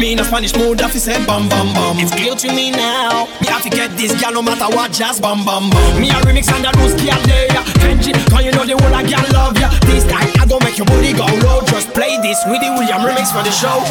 Me in a Spanish mood, that fi say bam bam bam. It's clear to me now, me have to get this girl no matter what, just bam bam bam. Me a remix and a loose girl there, Kenji, cause you know the whole of girl love ya. This time I gon' make your booty go low. Just play this with the William remix for the show.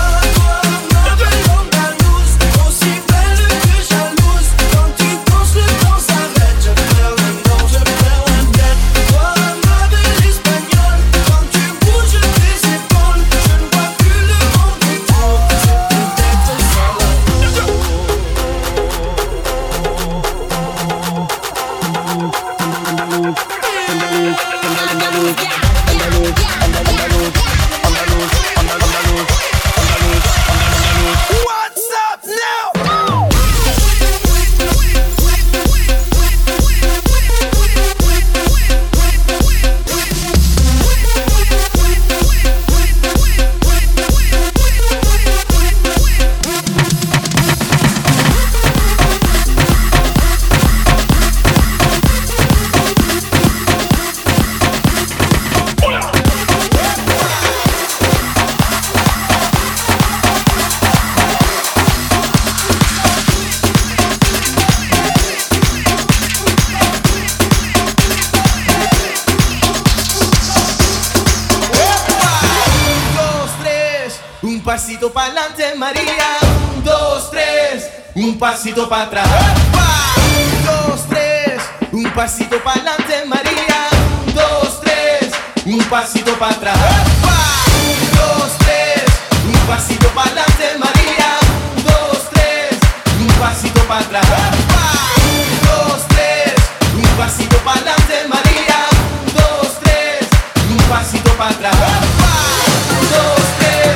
Un pasito pa'lante, María. 1, 2, 3. Un pasito para atrás. 1, 2, 3. Un pasito pa'lante, María. 1, 2, 3. Un pasito para atrás. 1, 2, 3. Un pasito pa'lante, María. 1, 2, 3. Un pasito para atrás. 1, 2, 3. Un pasito pa'lante, María. 1, 2, 3. Un pasito para atrás. 1, 2, 3.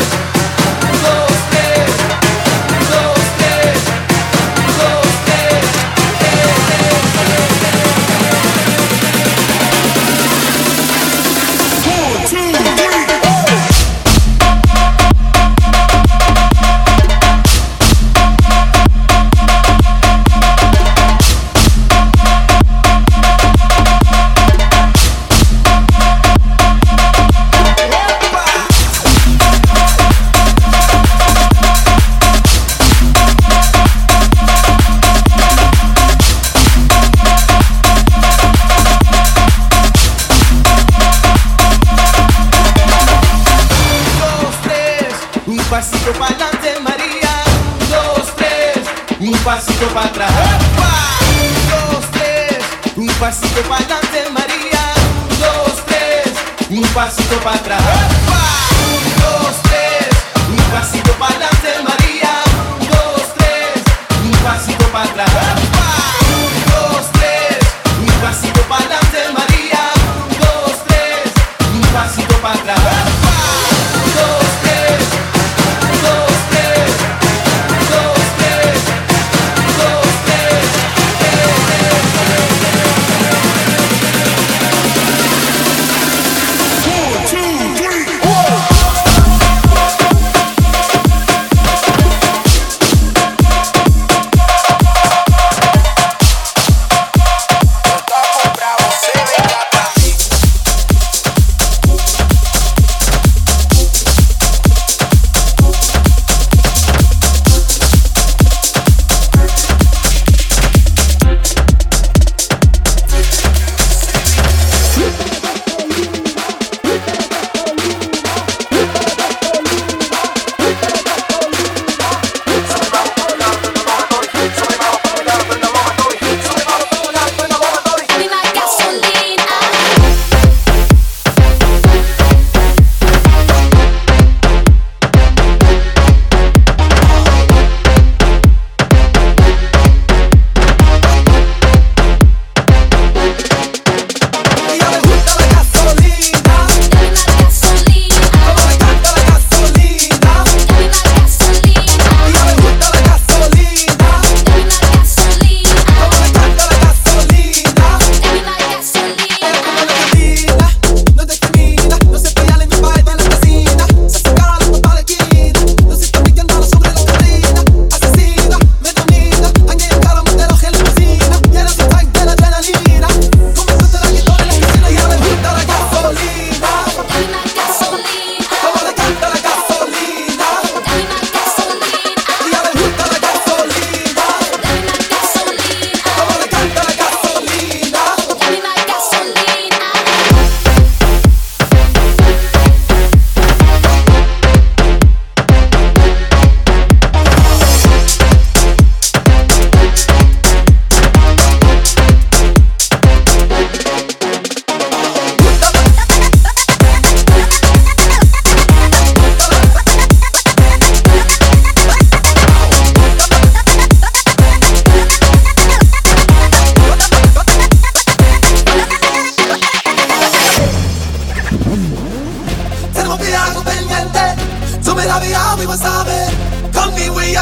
Pasito pa'lante, María. 1, 2, 3. Un pasito para atrás. 1, 2, 3. Un pasito pa'lante, María. 1, 2, 3. Un pasito para atrás. 1, 2, 3. Un pasito pa'lante, María. 1, 2, 3. Un pasito para atrás. 1, 2, 3. Un pasito pa'lante, María. 1, 2, 3. Un pasito para atrás. 2, 3.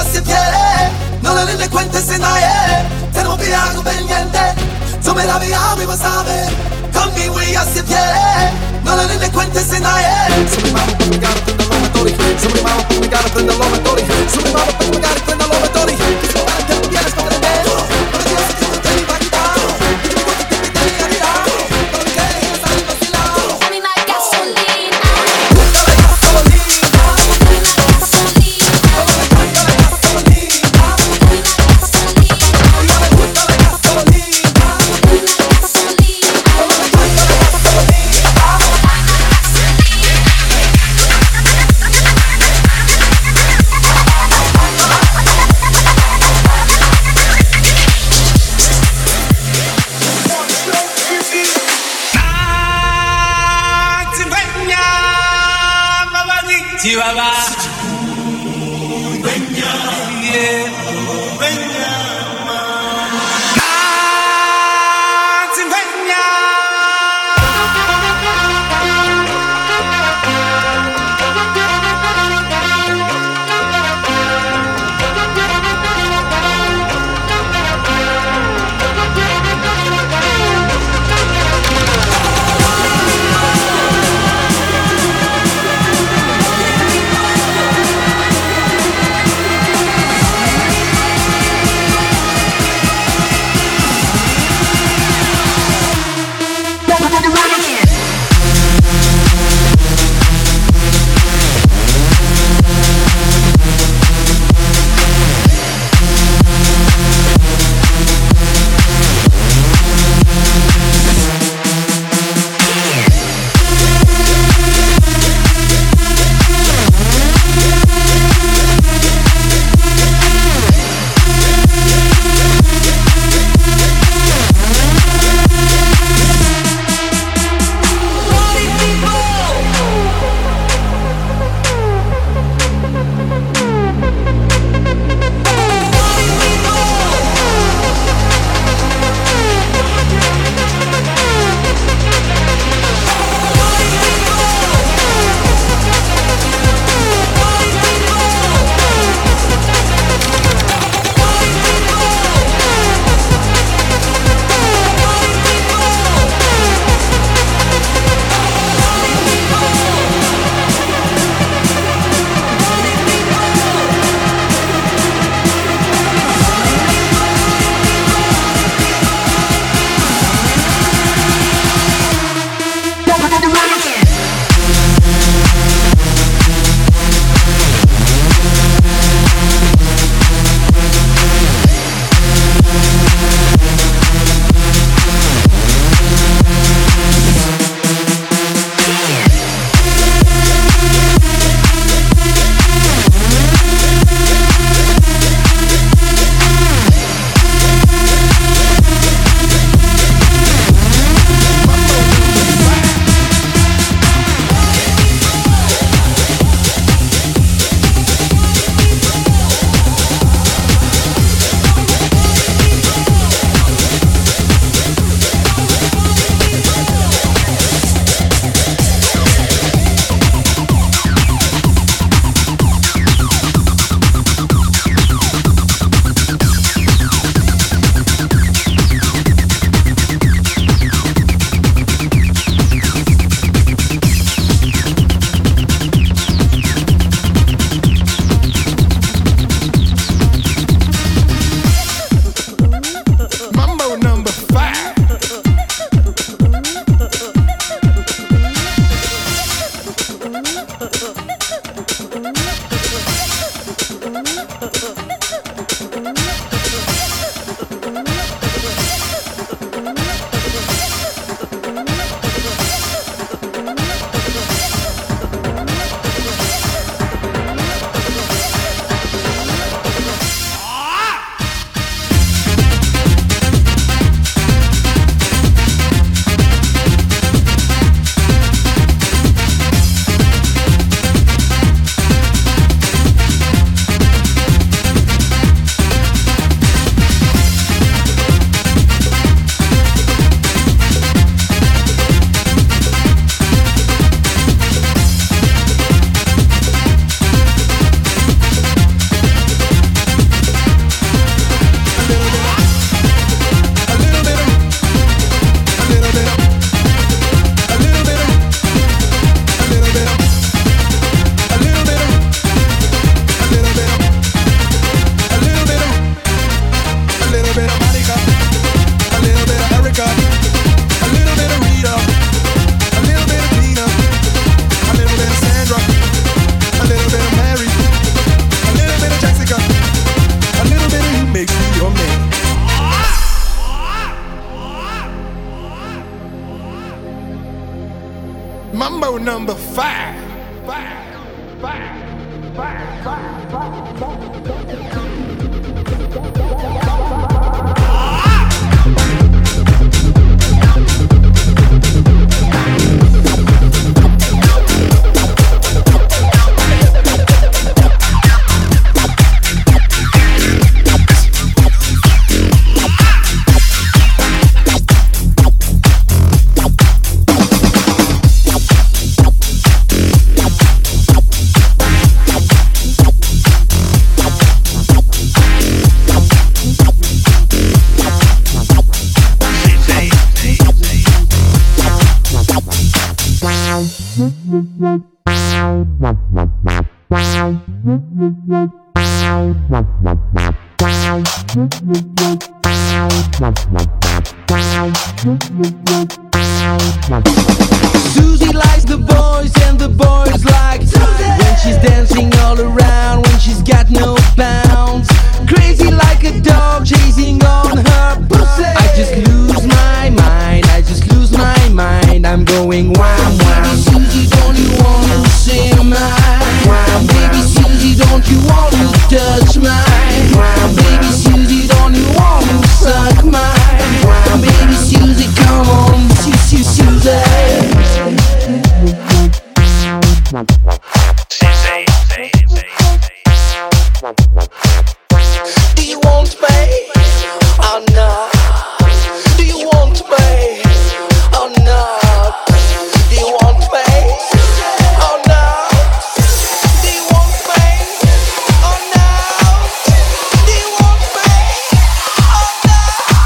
se tiene, no le cuentes a nadie. Tenemos que algo pendiente, yo me la vi a mi pasave. Conmigo ya se tiene, no le cuentes a nadie. Sobre mama, we gotta prend the laboratory. Sobre mama, we gotta prend the laboratory. Sobre mama, we gotta prend the laboratory. Que se van te vienes con el dedo. Para Dios que tú te mi vaquita. Que me cuentes que te mi vida. Para que dejes salir vacilado. Dame la gasolina. Busca la gasolina. Dame la gasolina. Vamos a cargar la gasolina. Dame la gasolina. Ya me gusta la gasolina. Dame la gasolina. Vamos a cargar la gasolina. Chihuahua. number 5. Susie likes the boys and the boys like Susie when she's dancing all around, when she's got no bounds. Crazy like a dog chasing on her pussy. I just lose my mind, I just lose my mind. I'm going wham wham. Baby Susie, don't you want to sing mine? Wham, baby Susie, don't you want to touch mine? Wham, baby Susie, don't you want to suck mine? Wham, baby Susie, come on, Susie. Do you want me? Oh no. Do you want me? Oh no. Do you want me? Oh no. Do you want me? Oh no. Do you want me? Oh no.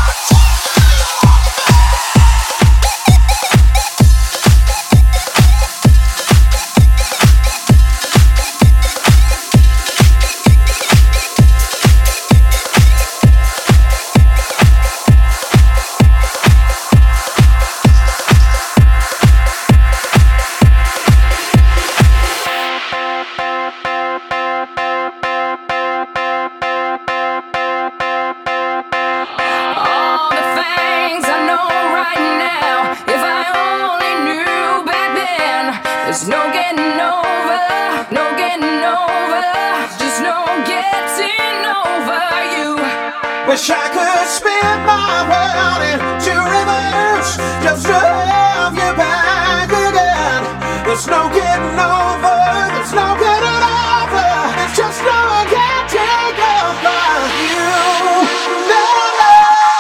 All the things I know right now, if I only knew back then. There's no getting over, no getting over, just no getting over you. Wish I could spin my world into reverse, just to have you back again. There's no getting over, there's no getting over, it's just no getting over you. No, no.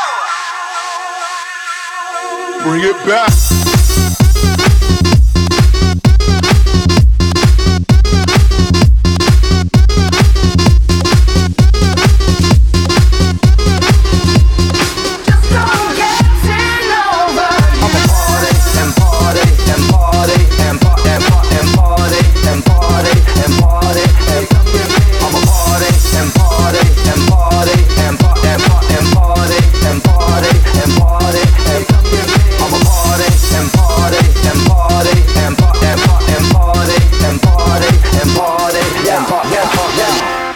Bring it back. Just no getting over you. Party and party and party and party and party and party and party and I'm a party and party and party and party and party and party and party and I'm a party and party and party and party and party and party and party and party and party and party.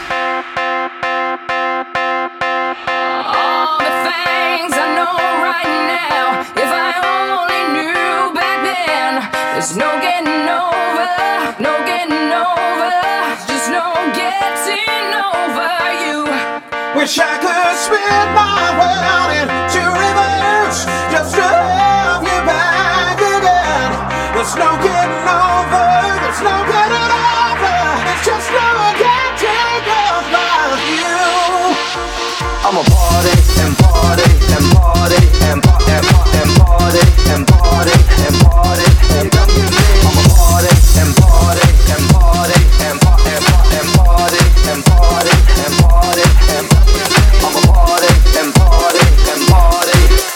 All the things I know right now, if I only knew back then. There's no getting over, no getting over, just no getting over you. Wish I could spin my world into reverse, just to have you back again. There's no getting over, there's no getting over, it's just no getting over you. I'm a party and party and party and party and party and party and party and party and I'm a party and party and party and party and party and party and party and I'm a party and party and party.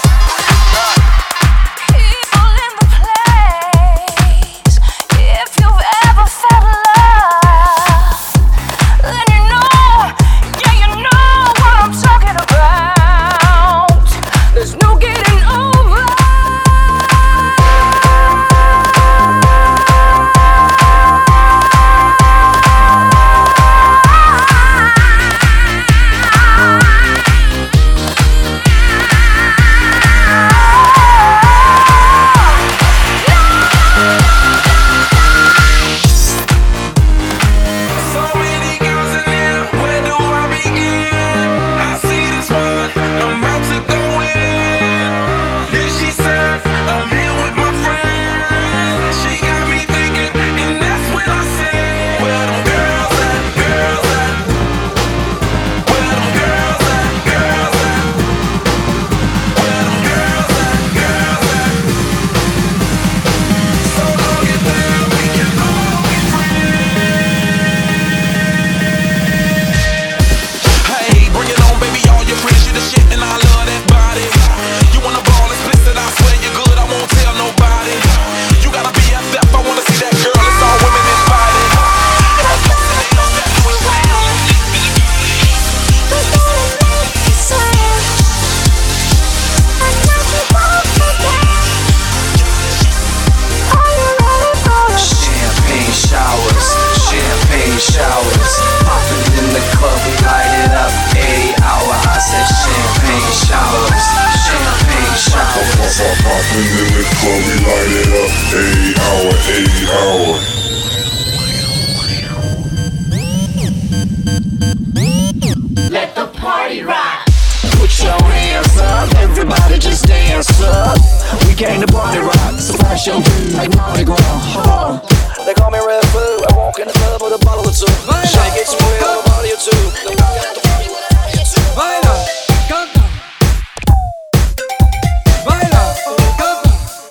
People in the place, if you've ever felt love, then you know, yeah, you know what I'm talking about. Let the party rock. Put your hands up, everybody just dance up. We came to party rock, so flash your feet like Mardi Gras. They call me Red Food, I walk in the club with a bottle or two. Shake it, swing a body or two. Then walk out the party with a body or two. Baila, canta. Baila, canta.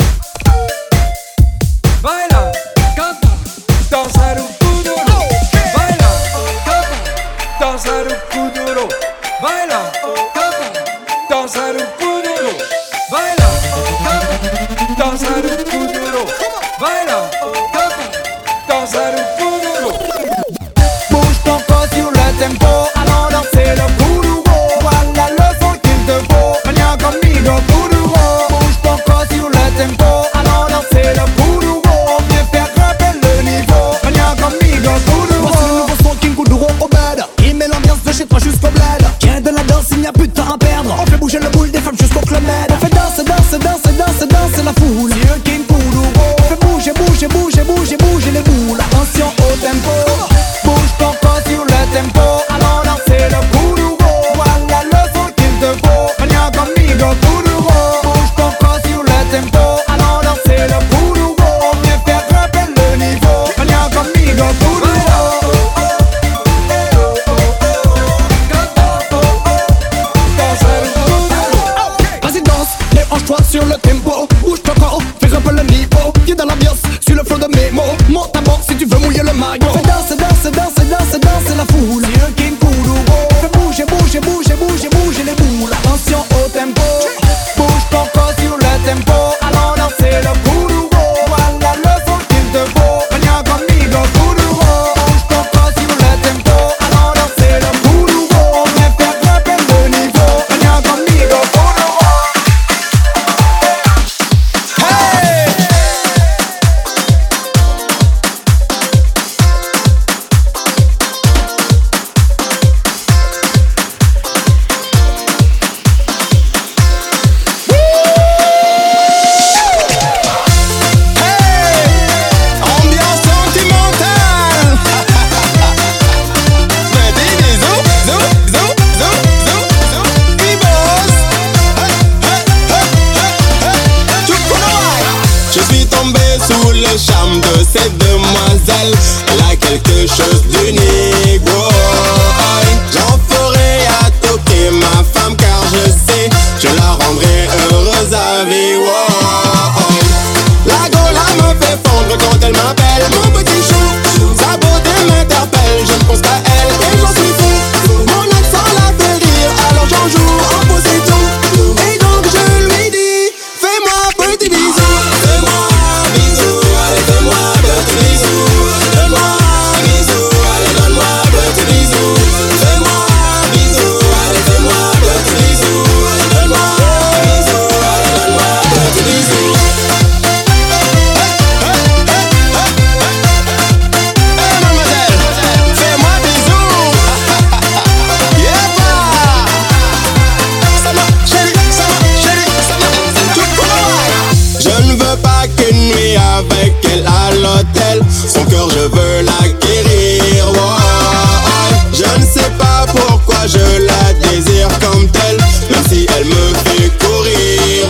Baila, canta. Dançar o kuduro. Baila, canta. Dançar o kuduro. Baila, canta. Dançar o kuduro. Baila, canta. Dançar o kuduro. Baila, canta. Dançar o kuduro. Bouge ton corps sur le tempo, allons danser le kuduro. Voilà le son qu'il te faut, viens conmigo kuduro. Bouge ton corps sur le tempo, allons danser le kuduro. Viens faire grimper le niveau, viens conmigo kuduro. Voici le nouveau son King Kuduro au bed. Il met l'ambiance de chez toi jusqu'au bled. Viens de la danse, il n'y a plus de temps à perdre. On fait bouger le boule des femmes jusqu'au club med. On fait danser, danser, danser, danser, danser la foule. C'est le King Kuduro. On fait bouger, bouger, bouger, bouger, bouger les boules. Attention au tempo, bouge ton corps sur le tempo, allons danser le kuduro. Voilà le son qu'il te faut, viens conmigo kuduro. Bouge ton corps sur le tempo, allons danser le kuduro. Viens faire grimper le niveau, viens conmigo kuduro. Vas-y danse, déhanche-toi sur le tempo. Bouge ton corps, fais un peu le niveau. Viens dans l'ambiance, sur le flow de mes mots. Monte à bord si tu veux mouiller le maillot. Fais danser, danser, danser, danser, danser la foule. C'est le King Kuduro. Fais bouger, bouger, bouger, bouger, bouger les boules. Attention au tempo, bouge ton corps sur le tempo, allons danser le kuduro. Voilà le son qu'il te faut, viens conmigo kuduro. Bouge ton corps sur le tempo, allons danser le kuduro. Viens faire grimper le niveau, viens conmigo kuduro. Hey! Ambiance sentimentale. Petit bisou, zou, zou, zou, zou, zou. Ibos. Je suis tombé sous le charme de cette demoiselle. Elle a quelque chose d'unique. Boy. J'en ferai à toquer ma femme car je sais je la rendrai heureuse à vie. La gola me fait fondre quand elle m'appelle mon petit chou. Sa beauté m'interpelle, je ne pense qu'à elle et j'en suis fou. Mon accent la fait rire, alors j'en joue en faux et tout. Et donc je lui dis, fais-moi petit bisou. Fais-moi bisou, allez fais-moi petit bisou. Fais-moi bisou, allez donne-moi petit bisou. Fais-moi bisou, allez fais-moi petit bisou. Fais-moi bisou, allez donne-moi petit bisou. Je ne veux pas qu'une nuit avec elle à l'hôtel. Son cœur je veux l'acquérir. Je ne sais pas pourquoi je la désire comme telle, même si elle me fait courir.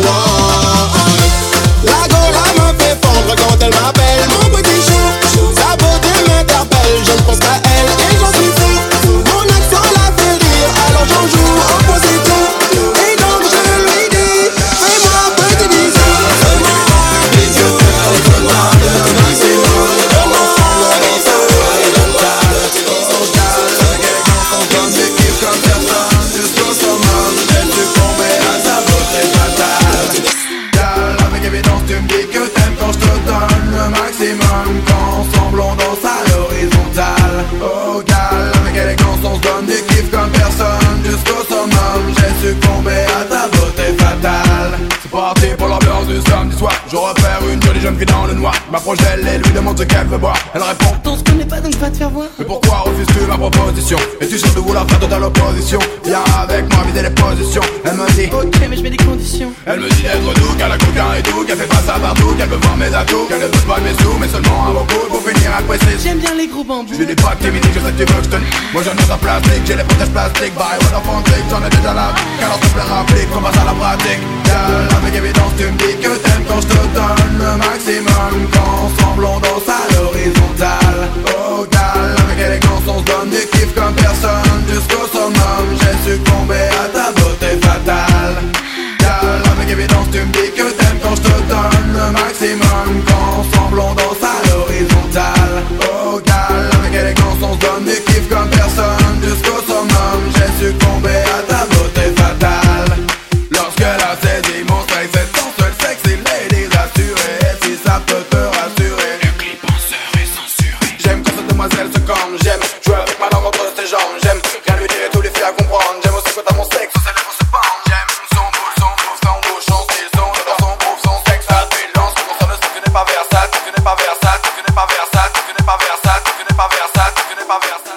La gola me fait fondre quand elle m'appelle mon petit chou. Sa beauté m'interpelle, je ne pense qu'à elle et j'en suis fou. Mon accent la fait rire, alors j'en joue en faux et tout. Et donc je lui dis, fais-moi petit bisou. Fais-moi bisou, allez fais-moi petit bisou. Fais-moi bisou, allez donne-moi petit bisou. Comme des kiffs comme personne, jusqu'au summum. Je suis tombé à sa beauté fatale. Gal, avec évidence tu me dis que t'aimes quand je te donne le maximum. Quand ensemble on danse à l'horizontale. Oh gal, avec élégance on se donne des kiffs comme personne. Jusqu'au summum, j'ai succombé à ta beauté fatale. C'est parti pour l'ambiance du samedi soir. Je repère une jolie jeune fille dans le noir. Je m'approche d'elle et lui demande ce qu'elle veut boire. Elle répond tout ce connais pas donc pas te faire voir. Mais pourquoi refuses-tu ma proposition? Et tu cherches de vouloir faire totale opposition. Viens avec moi vider les positions. Elle me dit ok mais je mets des conditions. Elle me dit d'être doux, qu'elle a coquin et tout, qu'elle fait face à partout, qu'elle veut voir mes atouts, qu'elle ne veut pas de mes sous, mais seulement un beaucoup pour finir à préciser. J'aime bien les gros bambous. Je dis pas que t'es mini, je sais que tu veux que je te nie. Moi j'en ai en plastique, j'ai les protèges plastiques. Bye, what the fuck, j'en ai déjà la vie. Car s'il te plaît rapplique, on passe à la pratique. Girl, avec évidence tu me dis que t'aimes quand je te donne le maximum. Qu'ensemble on danse à l'horizontale. Oh gal, avec élégance on se donne du kiff comme personne. Jusqu'au summum, j'ai succombé à ta beauté fatale. Gal, avec évidence tu me dis que t'aimes quand je te donne le maximum. Qu'ensemble on danse à l'horizontale. Oh gal, avec élégance on se donne du kiff comme personne. Jusqu'au summum, j'ai succombé à ta beauté fatale. Lorsqu'elle a saisi mon sexe, c'est ton seul sexy lady rassurée. Et si ça peut te rassurer, le clip en serait censuré. J'aime quand cette demoiselle se corne, j'aime jouer avec ma langue entre ses jambes. J'aime rien lui dire et tout lui faire comprendre. J'aime aussi quand à mon sexe, ses lèvres se pendent. J'aime son bouche, son style, j'adore son groove, son sexe, ça tu lance. Pour ça ne sais que tu n'es pas versatile, tu n'es pas versatile, tu n'es pas versatile, tu n'es pas versatile, tu n'es pas versatile, tu n'es pas versatile.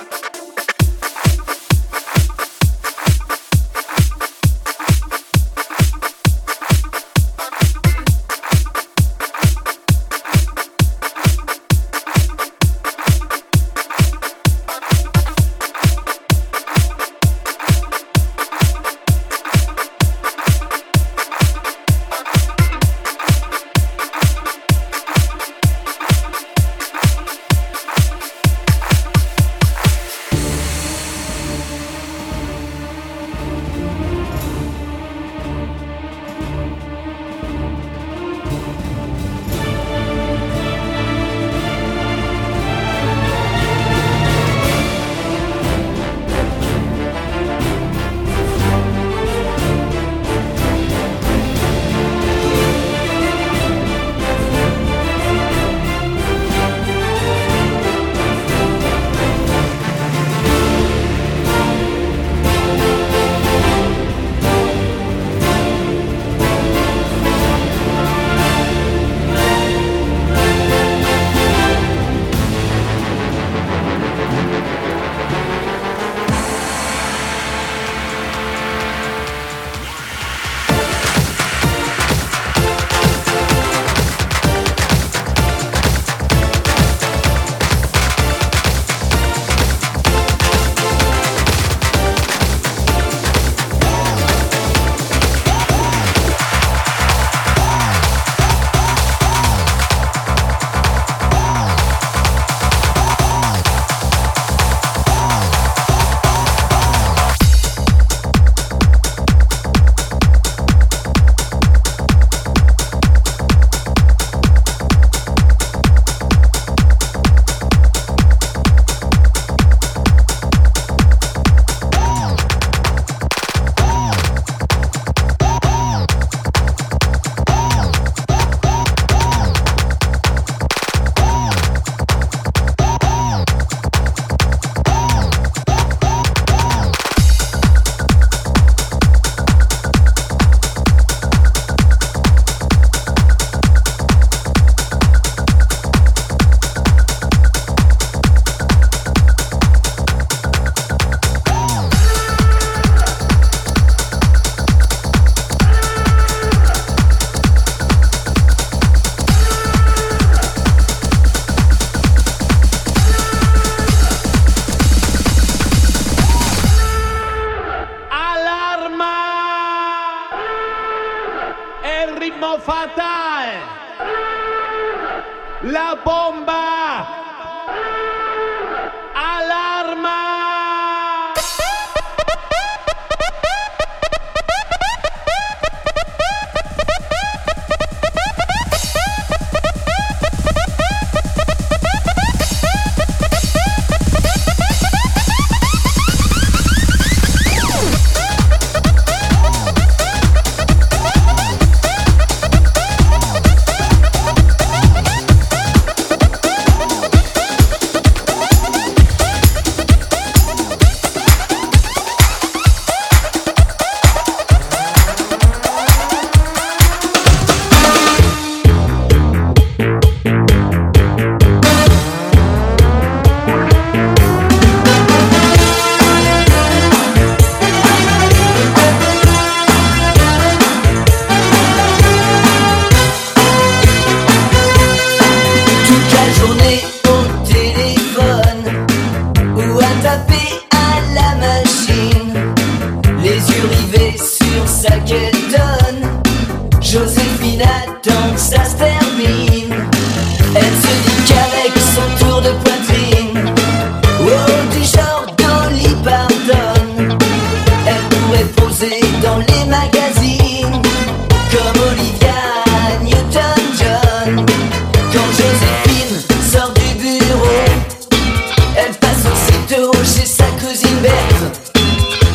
La bomba. Alarma.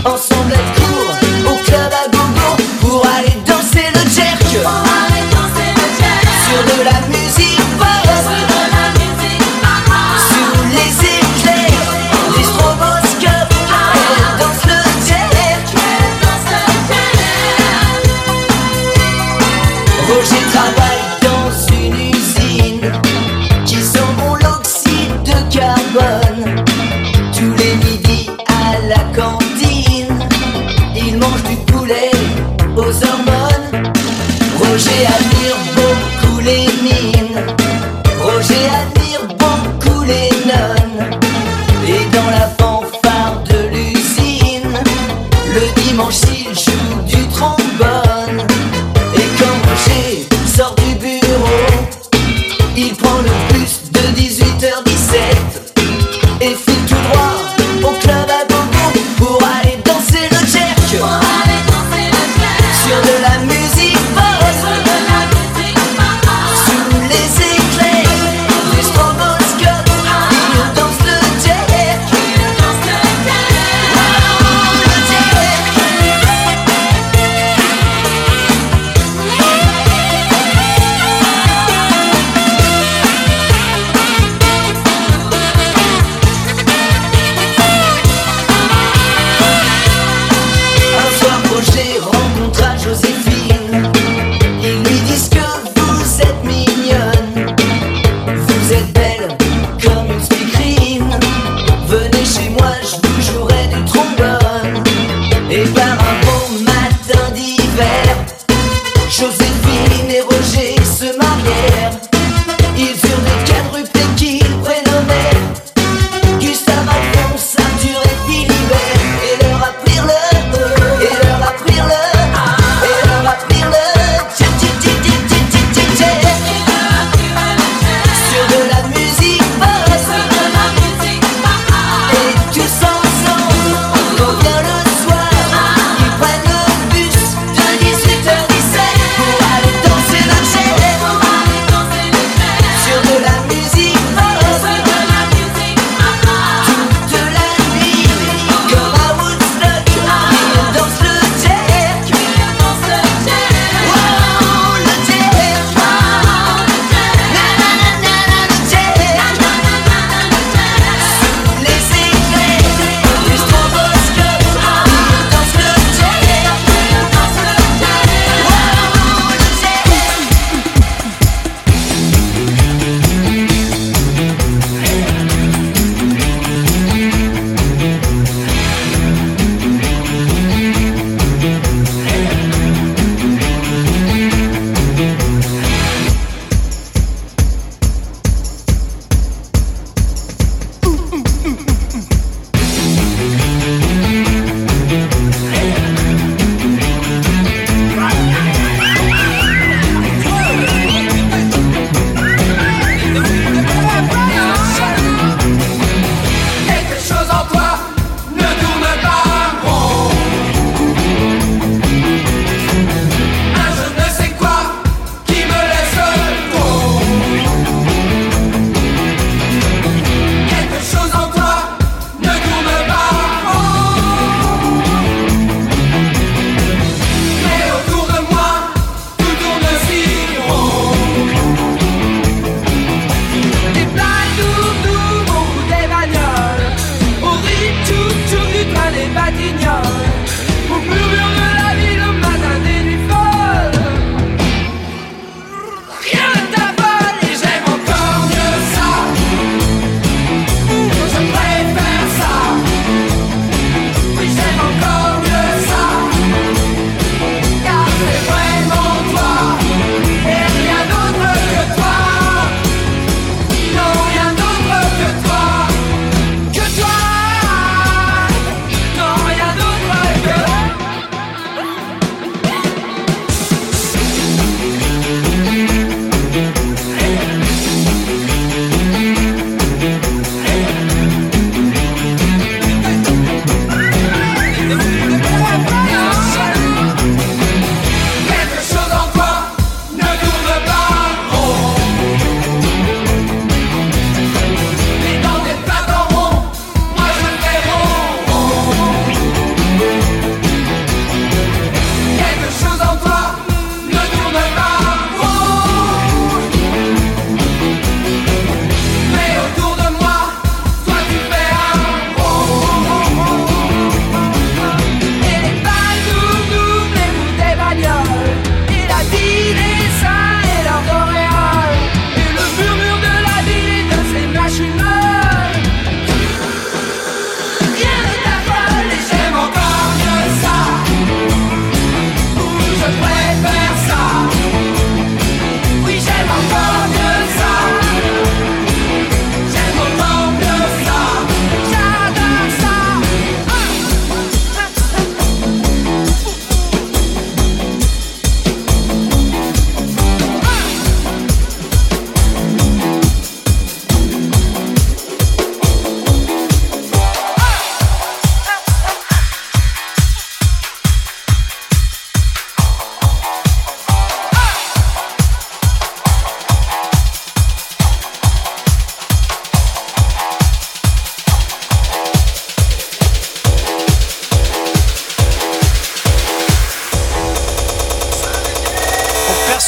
ensemble être court au club à gogo pour aller danser le jerk. Sur de la musique pop, sous les éclairs des stroboscopes, elle danse le jerk. Roger travaille dans une usine qui sent bon l'oxyde de carbone. Tous les midis à la cantine, il mange du poulet aux hormones. Roger admire beaucoup les mines, Roger admire beaucoup les nonnes. Et dans la fanfare de l'usine, le dimanche il joue du trombone. Et quand Roger sort du bureau, il prend le bus de 18h17 et file tout droit au club à gogo pour aller danser le jerk. Sur de la musique pop, sous les éclairs du stroboscope, il danse le jerk. Le jerk.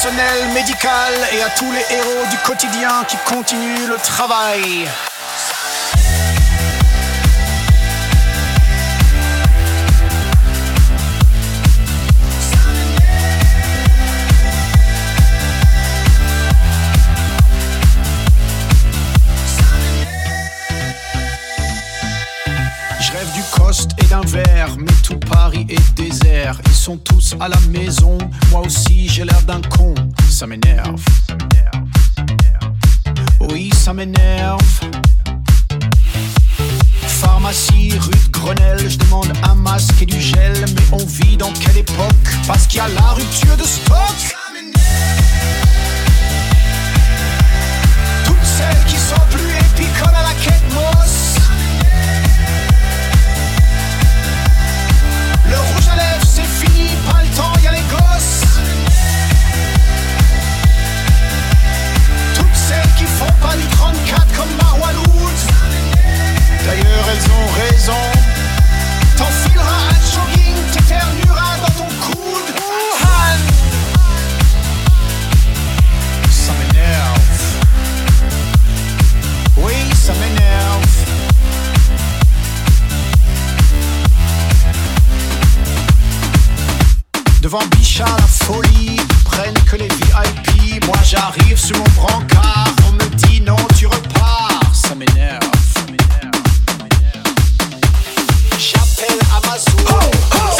personnel médical et à tous les héros du quotidien qui continuent le travail. Je rêve du coste et d'un verre, mais tout Paris est désert. Ils sont tous à la maison, moi aussi j'ai l'air d'un con. Ça m'énerve. Oui, ça m'énerve. Pharmacie, rue de Grenelle, je demande un masque et du gel. Mais on vit dans quelle époque? Parce qu'il y a la rupture de stock. Toutes celles qui sont plus épicoles à la quête Moss. Le rouge à lèvres c'est fini, pas le temps, y'a les gosses. Toutes celles qui font pas du 34 comme Marwan Woods. D'ailleurs elles ont raison. T'enfileras un jogging, t'éternueras dans ton coude. Han. Ça m'énerve. Oui, ça m'énerve. Devant Bichat la folie, ils prennent que les VIP. Moi j'arrive sur mon brancard, on me dit non tu repars. Ça m'énerve. J'appelle Amazon. Ho, ho.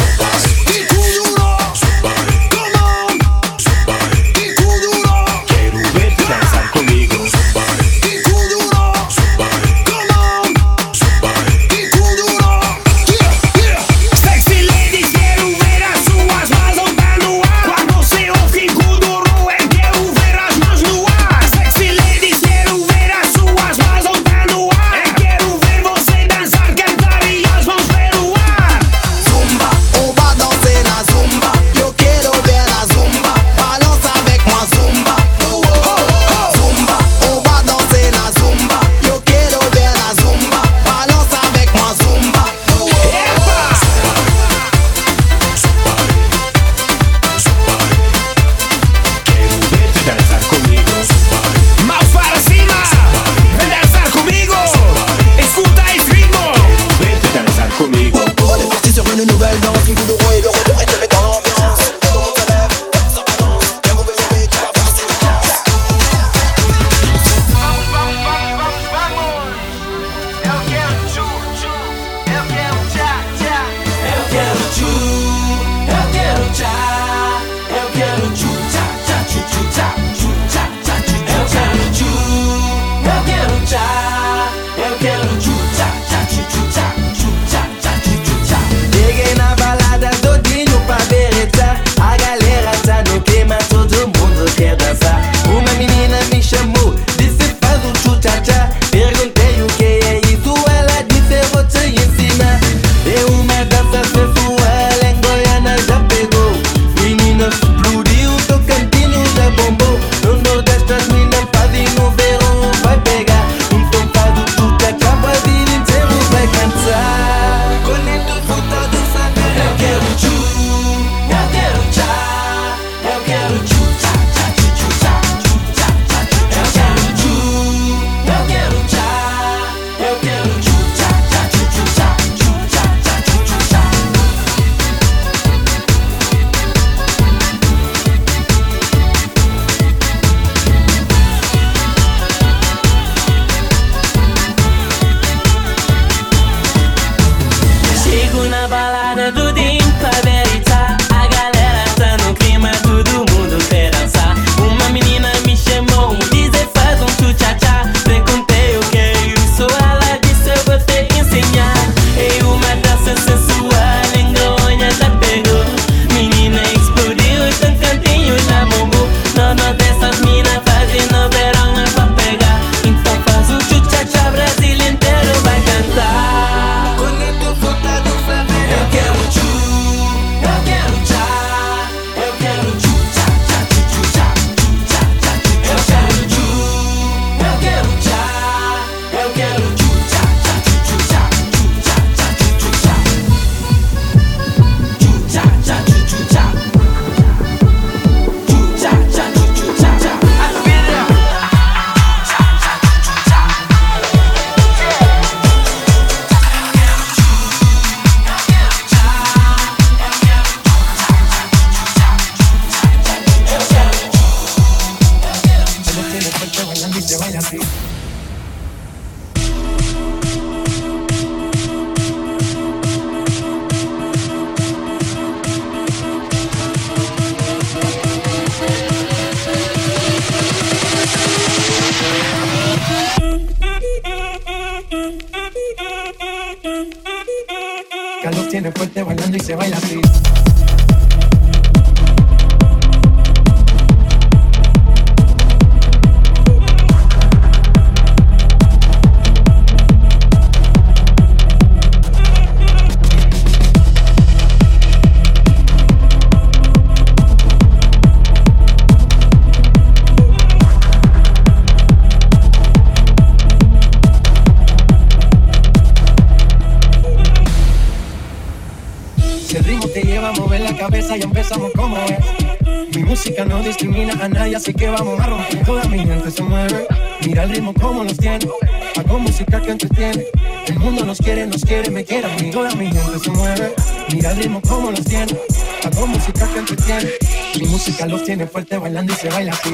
tiene fuerte bailando y se baila así. Y empezamos como es. Mi música no discrimina a nadie, así que vamos a romper. Toda mi gente se mueve, mira el ritmo como los tiene. Hago música que entretiene. El mundo nos quiere, me quiere a mí. Toda mi gente se mueve, mira el ritmo como los tiene. Hago música que entretiene. Mi música los tiene fuerte bailando y se baila así.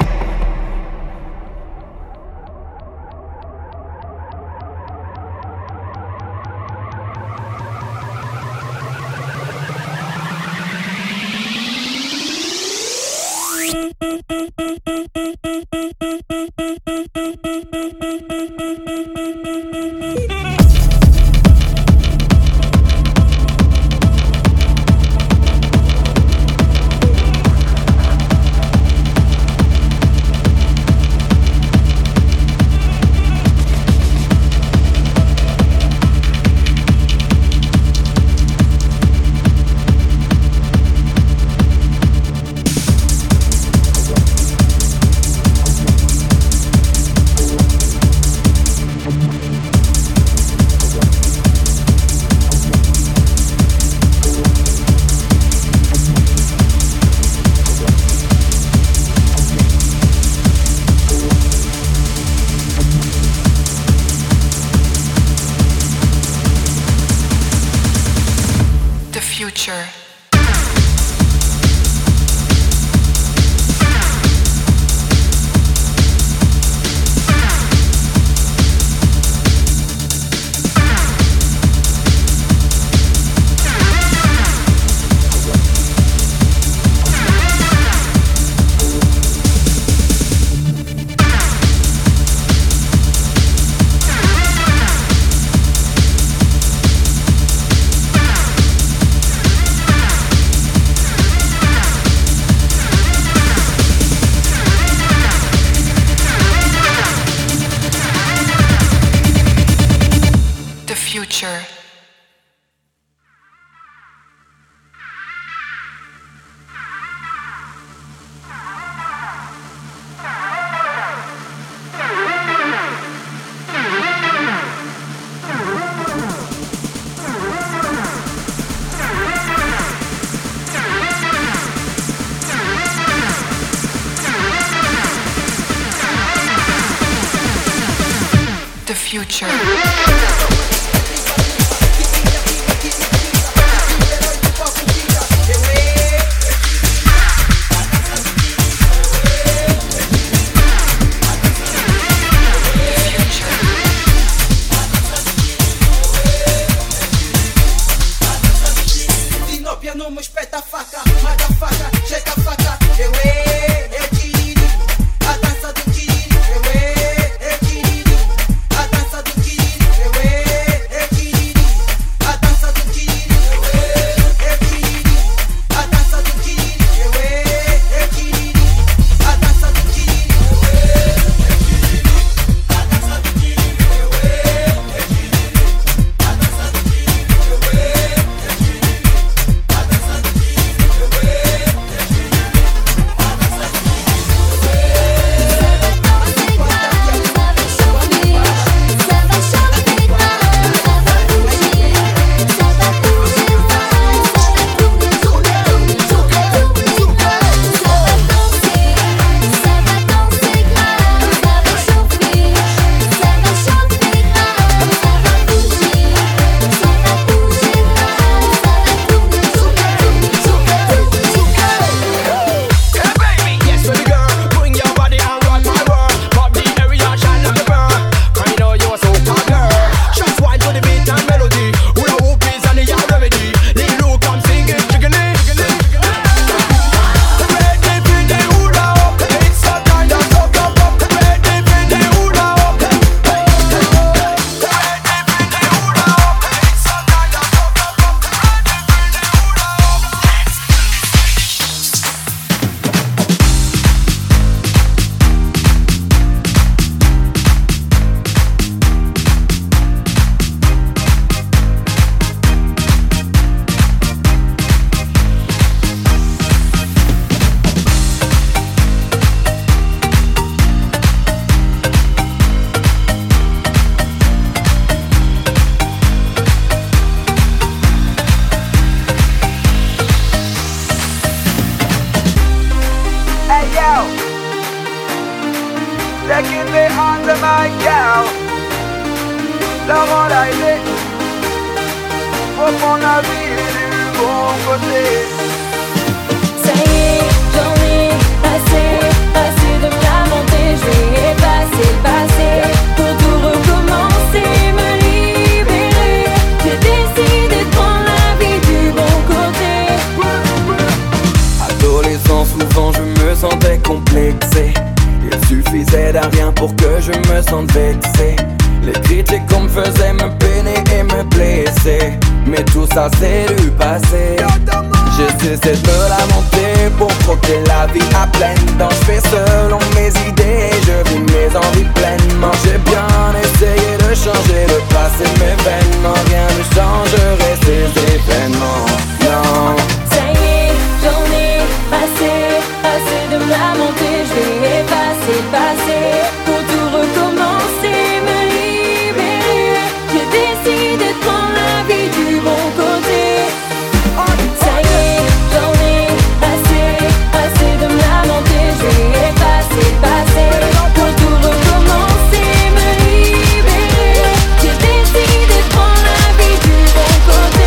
baby under my cow. Laurent Laillé, faut prendre la vie du bon côté. Ça y est, j'en ai assez de me lamenter. Je vais effacer le passé pour tout recommencer, me libérer. J'ai décidé de prendre la vie du bon côté. Adolescent, souvent je me sentais complexé. Il suffisait d'un rien pour que je me sente vexé. Les critiques qu'on me faisait me peiner et me blesser. Mais tout ça c'est du passé. J'ai cessé de me lamenter pour croquer la vie à pleines dents. Je fais selon mes idées, je vis mes envies pleinement. J'ai bien essayé de changer le passé, mais vainement rien ne changerait ces événements. Non. Ça y est, j'en ai assez de me lamenter. Je vais effacer le passé pour tout recommencer, me libérer. J'ai décidé de prendre la vie du bon côté. Ça y est, j'en ai assez de me lamenter. Je vais effacer le passé pour tout recommencer, me libérer. J'ai décidé de prendre la vie du bon côté.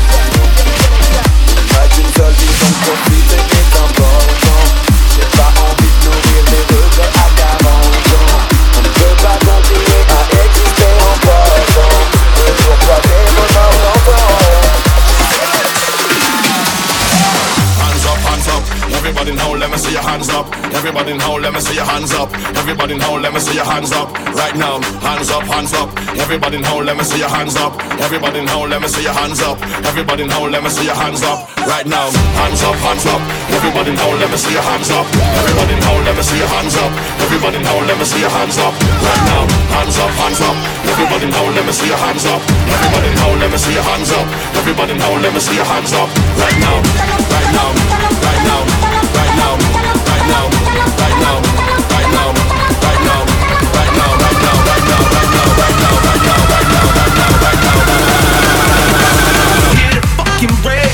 Pas qu'une seule vie, donc profiter est important. J'ai pas envie de nourrir des regrets à 40 ans. On ne peut pas continuer à exister en passant. Toujours pas des moments d'entendre. Hands up, everybody now let me see your hands up. Everybody now let me see your hands up. Everybody now let me see your hands up. Right now, hands up, hands up. Everybody now let me see your hands up. Everybody now let me see your hands up. Everybody now let me see your hands up. Right now, hands up, hands up. Everybody now let me see your hands up. Everybody now let me see your hands up. Everybody now let me see your hands up. Right now, hands up, hands up. Everybody now let me see your hands up. Everybody now let me see your hands up. Everybody now let me see your hands up. Right now, right now, right now, right now, right now, right now, right now, right now, right now, right now, right now, right now, right now, right now, right now, right now, right now, right now. Hit the fucking brakes.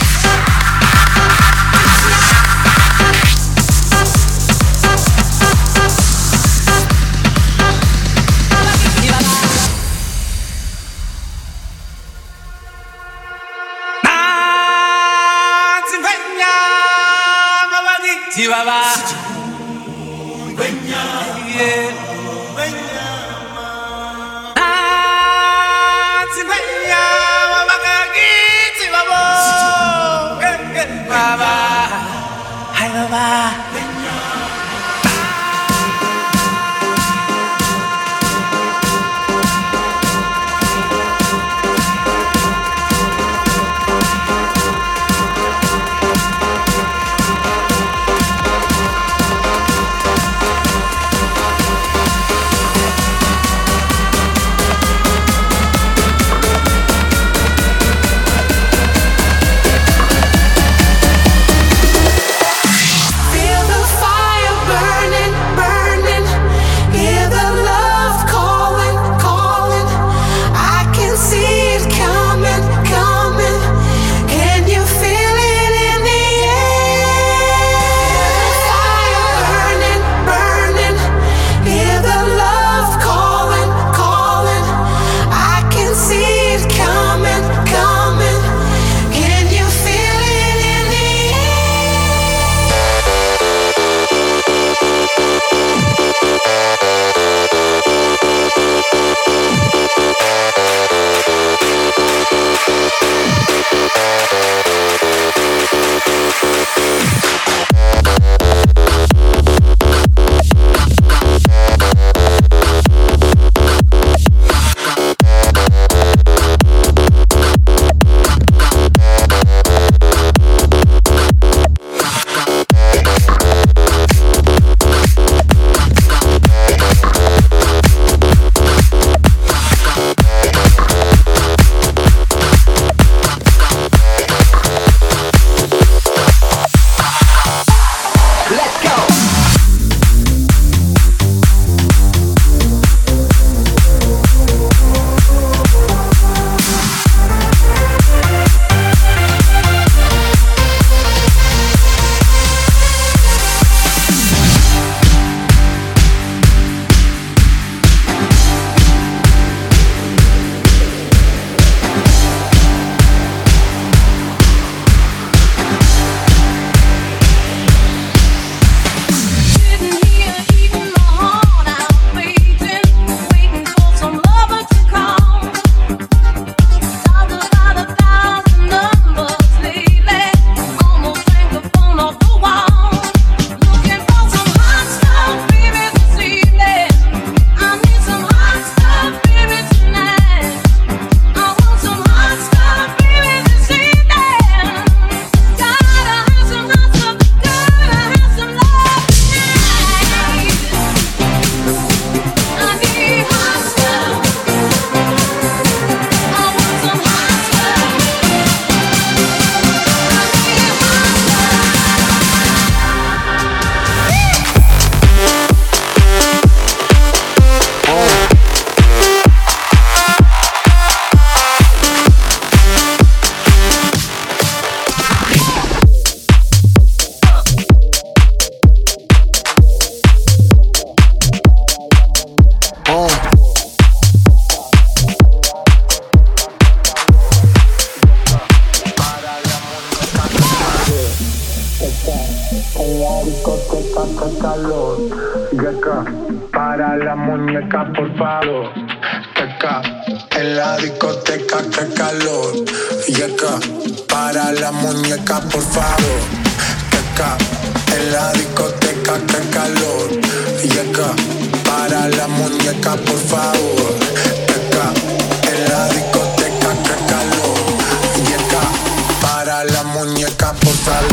la discoteca, qué calor. Yeca, para la muñeca, por favor. Yeca, en la discoteca, qué calor. Yeca, para la muñeca, por favor. Yeca, en la discoteca, qué calor. Yeca, para la muñeca, por favor. Yeca, en la discoteca, qué calor. Yeca, para la muñeca, por favor.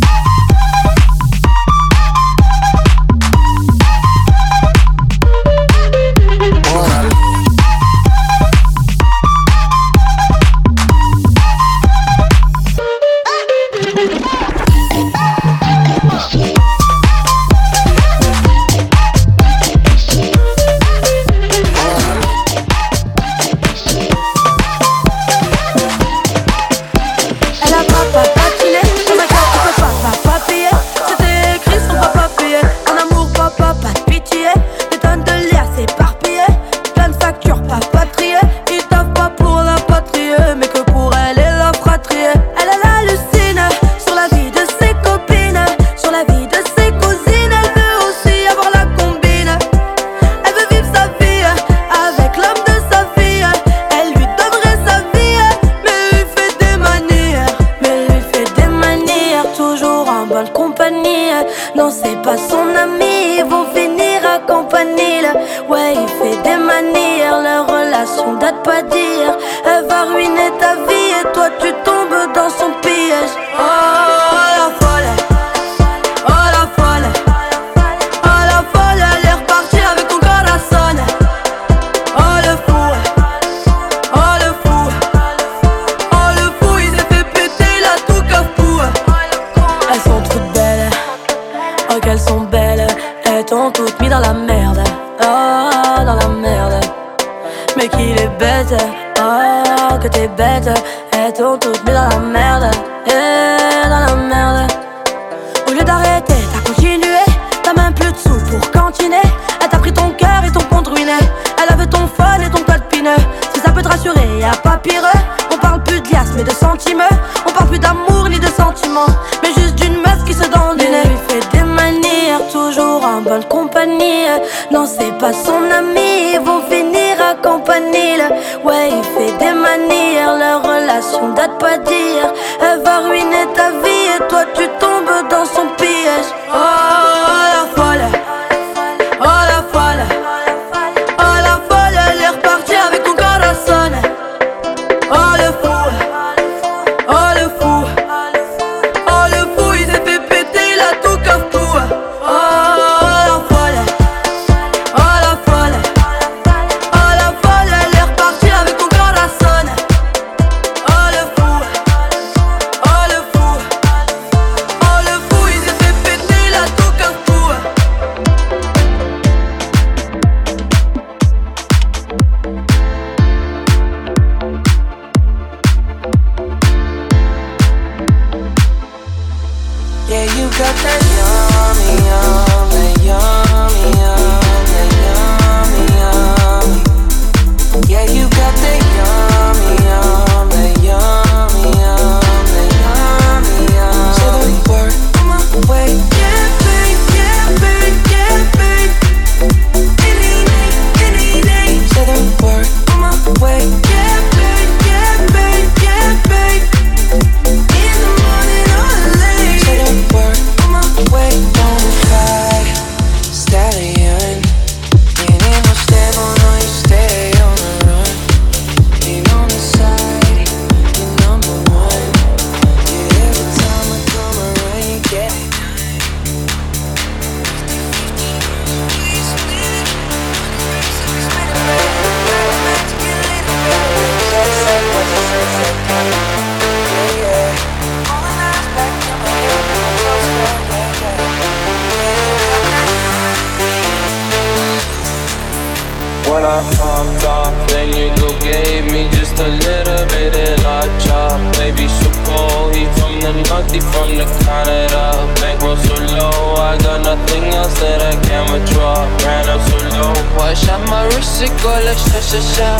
When I popped off, then you go gave me just a little bit of la chop. Baby, so cold, he from the north, he from the Canada. Bankroll so low, I got nothing else that I can withdraw. Ran up so low, I shot my wrist, it go like sha-sha-sha,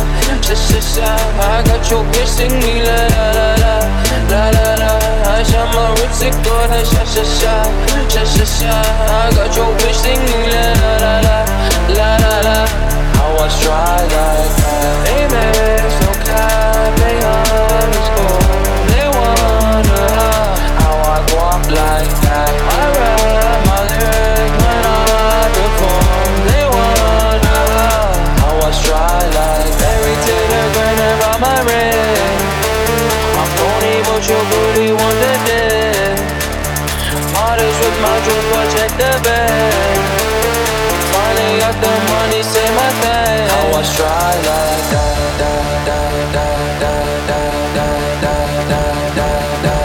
sha-sha-sha. I got your bitch sing me la la la la, la la la. I shot my wrist, sick of that sha-sha-sha, sha-sha-sha. I got your bitch singing la-la-la, la-la-la. I was dry like that. Amex, no cap, they underscore. They wonder how I walk like that. I rap my lyrics when I perform. They wonder how I was dry like that. Every till they're grinning about my ring. I'm phony, but your booty want the dick. Modest with my jewels, protect the bed. Finally got the money, say my thing. I was dry like that, that, that, that, that, that, that, that, that, that, that.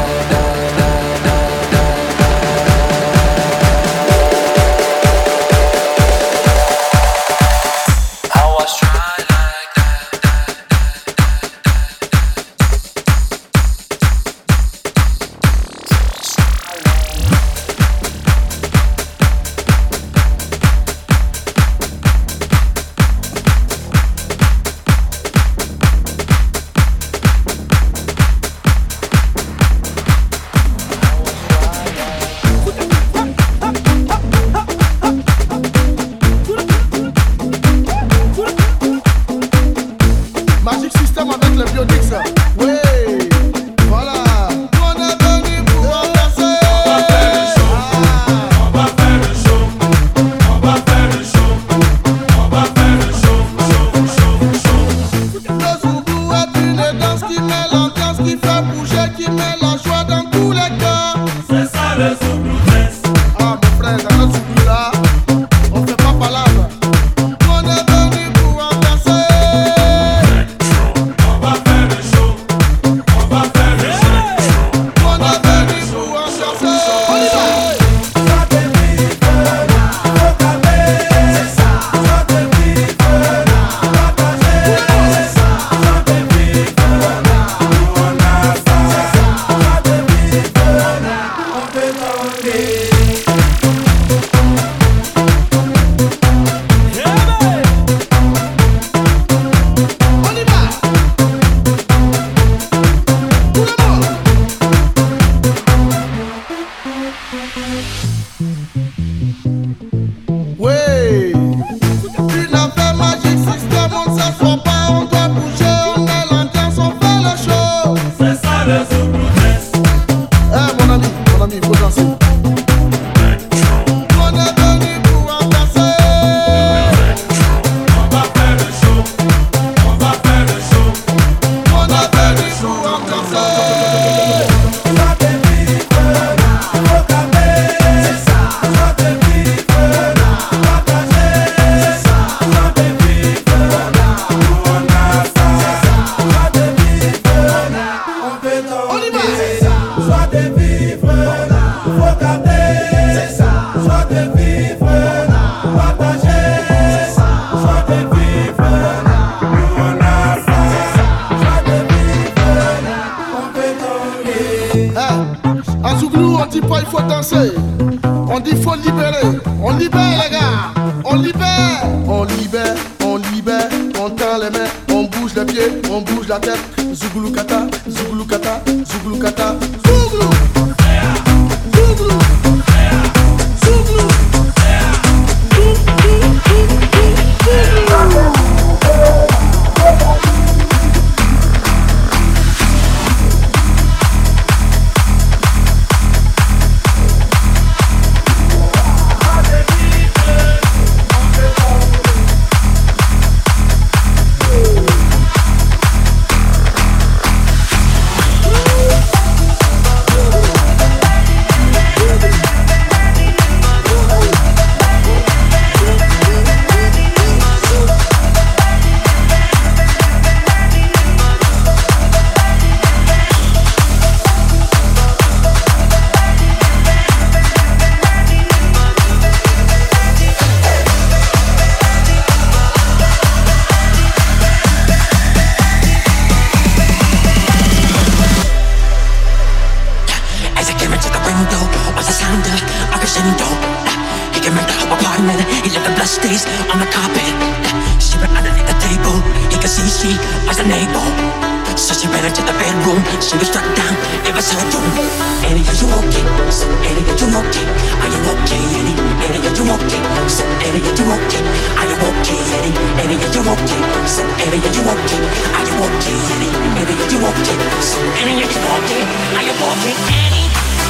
On bouge la tête, Zouglou kata, Zouglou kata, Zouglou kata, Zouglou, Zouglou, Zouglou, Stays on the carpet. She went underneath the table. He could see she was a neighbor. So she ran into the bedroom. She was struck down, never saw a room. Annie, are you okay? So Annie, are you okay? Are you okay, Annie? Annie, are you okay? So Annie, are you okay? Are you okay, Annie? Annie, are you okay? So Annie, are you okay? Are you okay, Annie? Annie, are you okay? So Annie, are you okay? Are you okay, Annie?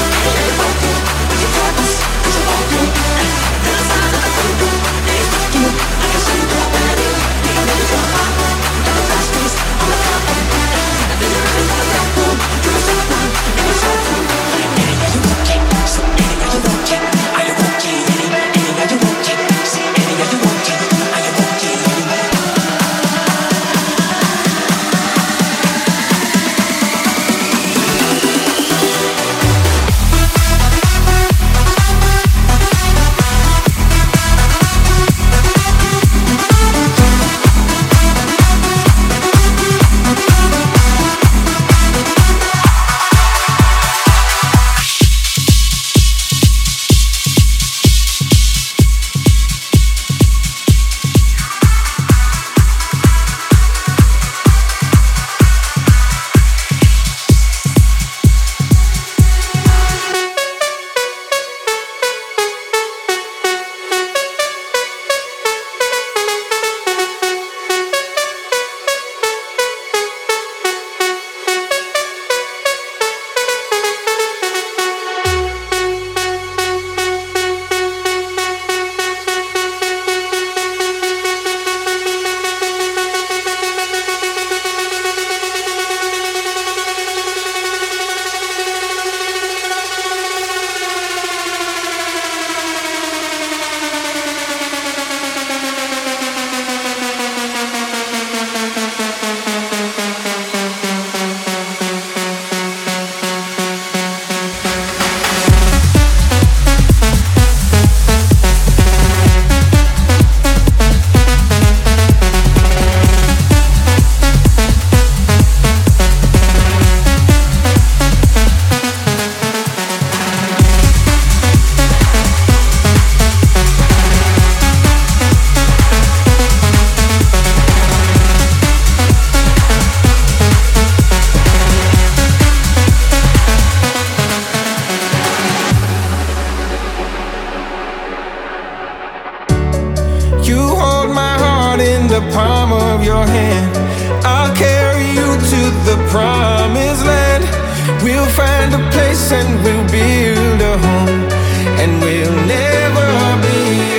palm of your hand. I'll carry you to the promised land. We'll find a place and we'll build a home, and we'll never be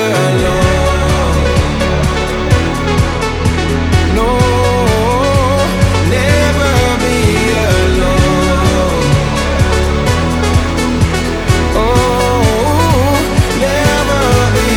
alone. No, never be alone. Oh, never be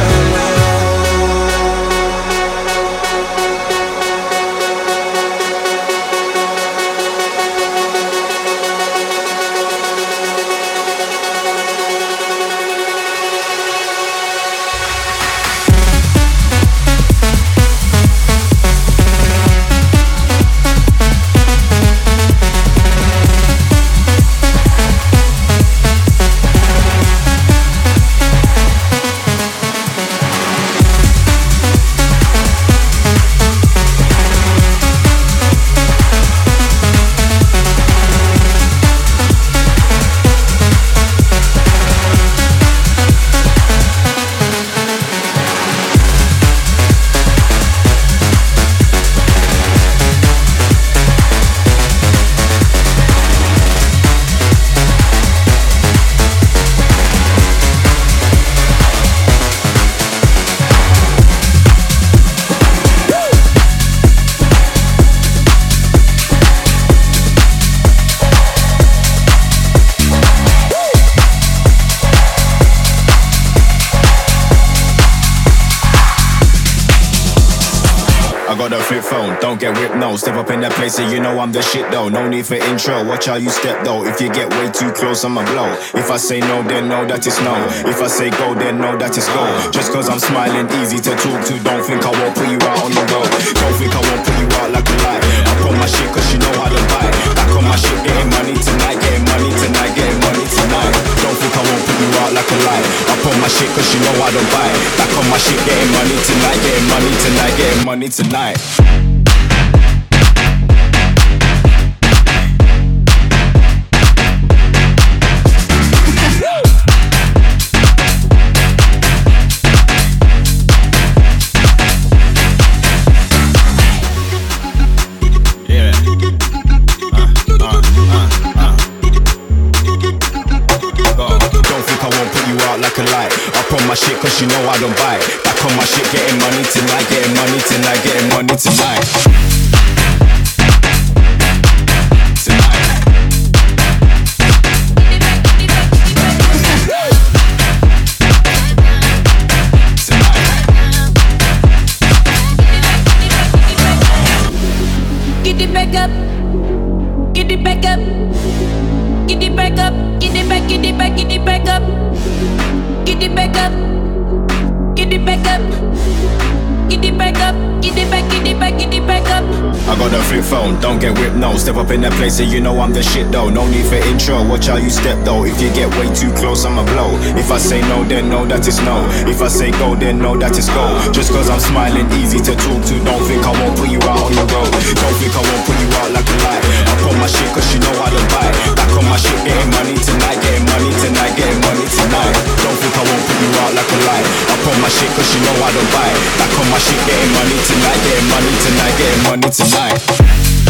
Don't get whipped, no. Step up in that place and you know I'm the shit though. No need for intro, watch how you step though. If you get way too close, I'ma blow. If I say no, then know that it's no. If I say go, then know that it's go. Just cause I'm smiling, easy to talk to. Don't think I won't put you out on the road. Don't think I won't put you out like a light. I put my shit cause you know how to buy. Back on my shit, getting money tonight. Getting money tonight, getting money tonight. Don't think I won't put you out like a light. I put my shit cause you know how to buy. Back on my shit, getting money tonight. Getting money tonight, getting money tonight. out like a light. Up on my shit cause you know I don't bite. Back on my shit, getting money tonight, getting money tonight, getting money tonight. Get it back up, get it back up, get it back up, get it back, get it back, get it back up, get it back up, get it back up, get it back up, get it back, get it back, get it back up. I got a flip phone, don't get whipped, no. Step up in that place and you know I'm the shit though. No need for intro, watch how you step though. If you get way too close, I'ma blow. If I say no, then know that it's no. If I say go, then know that it's go. Just cause I'm smiling, easy to talk to. Don't think I won't put you out on the road. Don't think I won't put you out like a light. Up on my shit cause you know I don't bite. Back on my shit, getting money tonight, getting money tonight, getting money tonight. Don't think I won't put you out like a light. Up on my shit cause you know I don't bite. Back on my shit, getting money tonight, getting money tonight, getting money tonight.